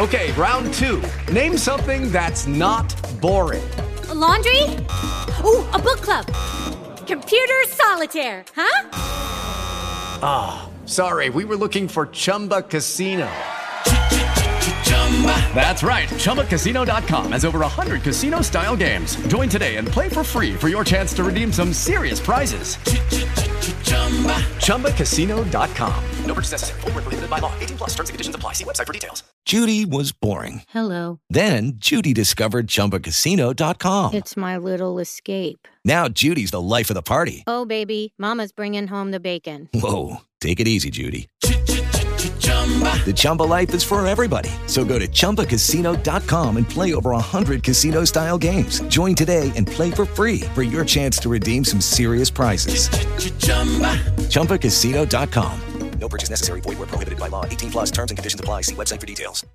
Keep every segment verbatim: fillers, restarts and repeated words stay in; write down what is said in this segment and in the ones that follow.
Okay, round two. Name something that's not boring. A laundry? Ooh, a book club. Computer solitaire, huh? Ah, oh, sorry, we were looking for Chumba Casino. That's right, Chumba Casino dot com has over one hundred casino-style games. Join today and play for free for your chance to redeem some serious prizes. Chumba Casino dot com. No purchase necessary. Void where prohibited by law. eighteen plus terms and conditions apply. See website for details. Judy was boring. Hello. Then Judy discovered Chumba Casino dot com. It's my little escape. Now Judy's the life of the party. Oh, baby, mama's bringing home the bacon. Whoa, take it easy, Judy. The Chumba life is for everybody. So go to Chumba Casino dot com and play over one hundred casino-style games. Join today and play for free for your chance to redeem some serious prizes. Chumba Casino dot com. No purchase necessary. Void where prohibited by law. eighteen plus terms and conditions apply. See website for details.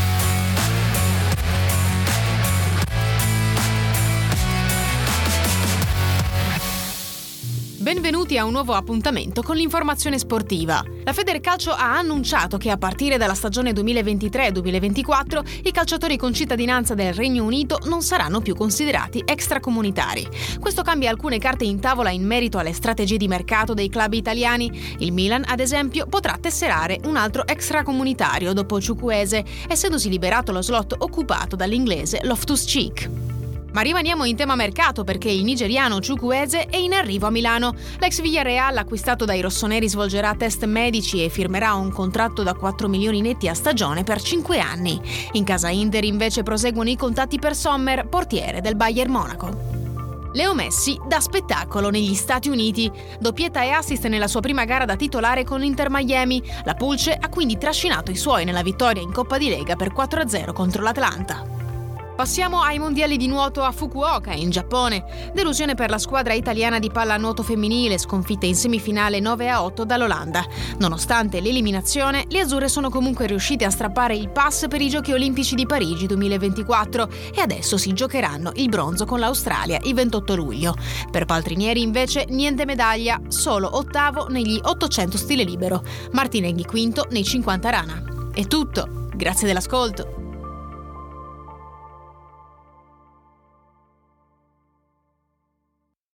Benvenuti a un nuovo appuntamento con l'informazione sportiva. La Federcalcio ha annunciato che a partire dalla stagione duemilaventitré duemilaventiquattro i calciatori con cittadinanza del Regno Unito non saranno più considerati extracomunitari. Questo cambia alcune carte in tavola in merito alle strategie di mercato dei club italiani. Il Milan, ad esempio, potrà tesserare un altro extracomunitario dopo Chukwueze, essendosi liberato lo slot occupato dall'inglese Loftus-Cheek. Ma rimaniamo in tema mercato perché il nigeriano Chukwueze è in arrivo a Milano. L'ex Villarreal, acquistato dai rossoneri, svolgerà test medici e firmerà un contratto da quattro milioni netti a stagione per cinque anni. In casa Inter invece proseguono i contatti per Sommer, portiere del Bayern Monaco. Leo Messi dà spettacolo negli Stati Uniti. Doppietta e assist nella sua prima gara da titolare con l'Inter Miami. La Pulce ha quindi trascinato i suoi nella vittoria in Coppa di Lega per quattro a zero contro l'Atlanta. Passiamo ai mondiali di nuoto a Fukuoka, in Giappone. Delusione per la squadra italiana di pallanuoto femminile, sconfitta in semifinale nove a otto dall'Olanda. Nonostante l'eliminazione, le azzurre sono comunque riuscite a strappare il pass per i Giochi Olimpici di Parigi duemilaventiquattro e adesso si giocheranno il bronzo con l'Australia il ventotto luglio. Per Paltrinieri invece niente medaglia, solo ottavo negli ottocento stile libero. Martinenghi quinto nei cinquanta rana. È tutto, grazie dell'ascolto.